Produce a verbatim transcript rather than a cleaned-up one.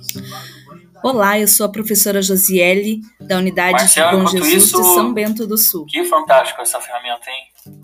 Olá, eu sou a professora Josiele, da Unidade Marcelo, de Bom enquanto Jesus isso, de São Bento do Sul. Que fantástico essa ferramenta, hein?